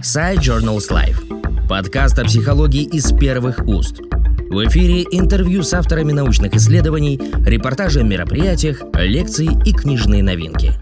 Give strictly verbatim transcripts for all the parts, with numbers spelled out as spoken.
Sci Journals Live. Подкаст о психологии из первых уст. В эфире интервью с авторами научных исследований, репортажи о мероприятиях, лекции и книжные новинки.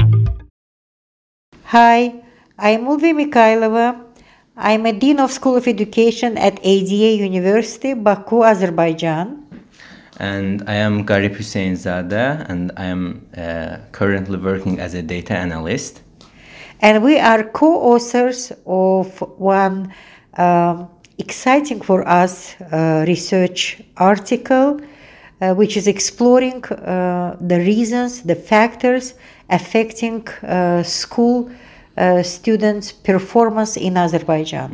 Hi, I'm Ulvi Mikhailova. I'm a Dean of School of Education at A D A University, Baku, Azerbaijan. And I am Garip Hüseyinzadeh, and I am uh, currently working as a data analyst. And we are co-authors of one um, exciting for us uh, research article, uh, which is exploring uh, the reasons, the factors affecting uh, school uh, students' performance in Azerbaijan.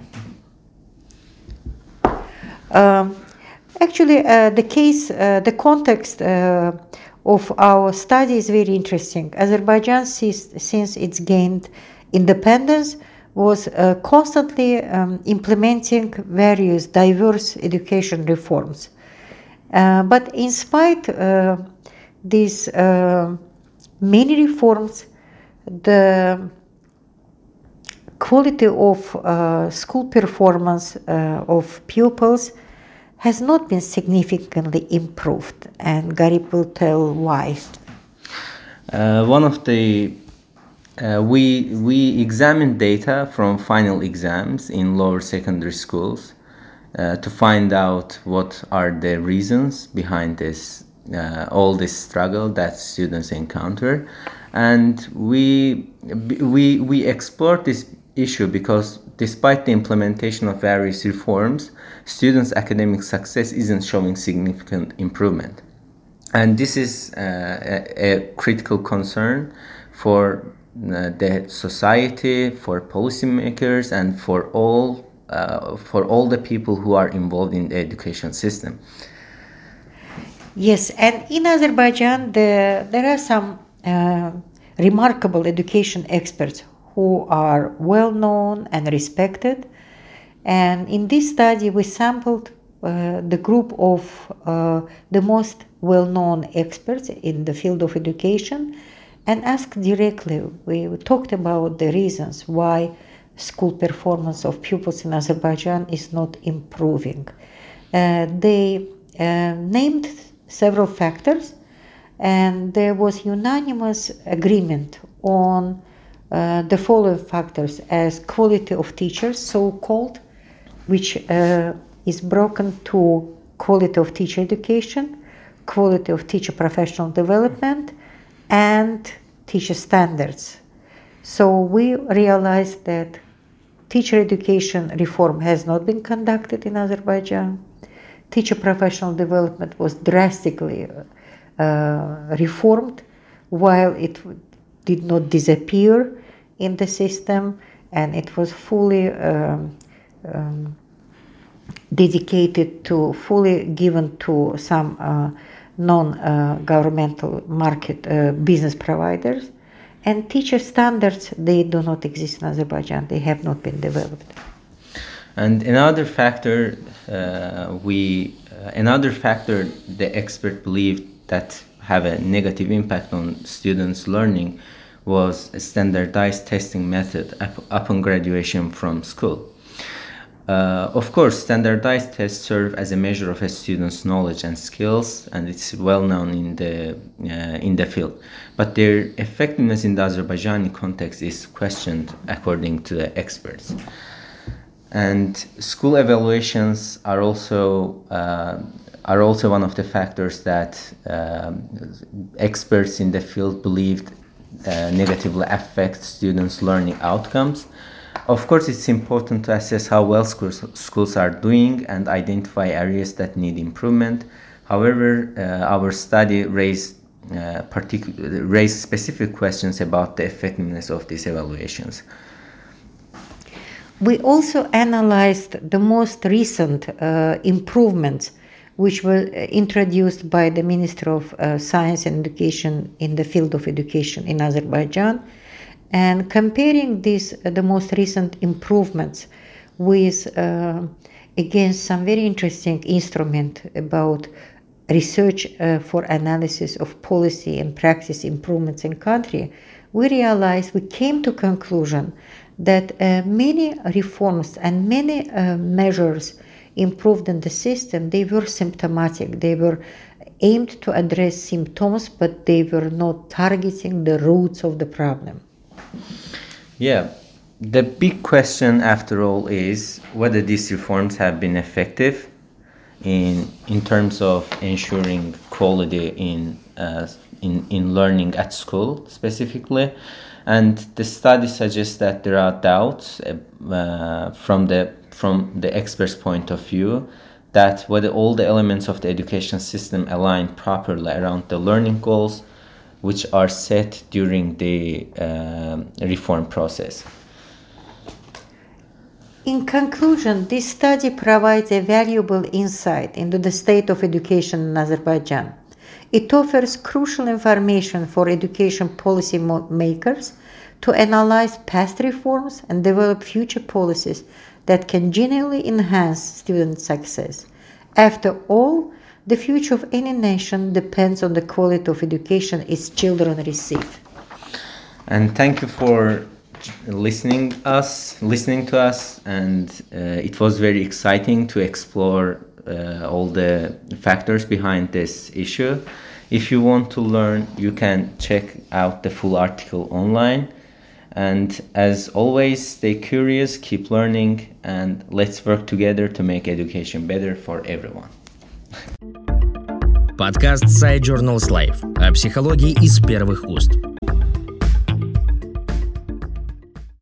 Um, actually, uh, the case, uh, the context uh, of our study is very interesting. Azerbaijan, since, since it's gained independence, was uh, constantly um, implementing various diverse education reforms. Uh, but in spite of uh, these uh, many reforms, the quality of uh, school performance uh, of pupils has not been significantly improved, and Garip will tell why. Uh, one of the Uh, we we examined data from final exams in lower secondary schools uh, to find out what are the reasons behind this uh, all this struggle that students encounter, and we we we explored this issue because despite the implementation of various reforms, students' academic success isn't showing significant improvement, and this is uh, a, a critical concern for Uh, the society, for policymakers, and for all uh, for all the people who are involved in the education system. Yes, and in Azerbaijan, the, there are some uh, remarkable education experts who are well known and respected. And in this study, we sampled uh, the group of uh, the most well-known experts in the field of education and asked directly. We talked about the reasons why school performance of pupils in Azerbaijan is not improving. Uh, they uh, named several factors, and there was unanimous agreement on uh, the following factors as quality of teachers, so-called, which uh, is broken to quality of teacher education, quality of teacher professional development, and teacher standards. So we realized that teacher education reform has not been conducted in Azerbaijan. Teacher professional development was drastically uh, reformed, while it did not disappear in the system, and it was fully um, um, dedicated to, fully given to some uh, non-governmental uh, market uh, business providers. And teacher standards, they do not exist in Azerbaijan. They have not been developed. And another factor, uh, we uh, another factor the expert believed that have a negative impact on students' learning was a standardized testing method up, upon graduation from school. Uh, of course, standardized tests serve as a measure of a student's knowledge and skills, and it's well known in the uh, in the field. But their effectiveness in the Azerbaijani context is questioned, according to the experts. And school evaluations are also uh, are also one of the factors that uh, experts in the field believed uh, negatively affect students' learning outcomes. Of course, it's important to assess how well schools, schools are doing and identify areas that need improvement. However, uh, our study raised, uh, particu- raised specific questions about the effectiveness of these evaluations. We also analyzed the most recent uh, improvements which were introduced by the Ministry of uh, Science and Education in the field of education in Azerbaijan, and comparing these, uh, the most recent improvements with, uh, against some very interesting instrument about research uh, for analysis of policy and practice improvements in country, we realized, we came to conclusion that uh, many reforms and many uh, measures improved in the system, they were symptomatic. They were aimed to address symptoms, but they were not targeting the roots of the problem. Yeah, the big question after all is whether these reforms have been effective in in terms of ensuring quality in uh, in in learning at school specifically. And the study suggests that there are doubts uh, from the from the experts' point of view that whether all the elements of the education system align properly around the learning goals which are set during the uh, reform process. In conclusion, this study provides a valuable insight into the state of education in Azerbaijan. It offers crucial information for education policy makers to analyze past reforms and develop future policies that can genuinely enhance student success. After all, the future of any nation depends on the quality of education its children receive. And thank you for listening us, listening to us, and uh, it was very exciting to explore uh, all the factors behind this issue. If you want to learn, you can check out the full article online. And as always, stay curious, keep learning, and let's work together to make education better for everyone. Подкаст Side Journals Life о психологии из первых уст.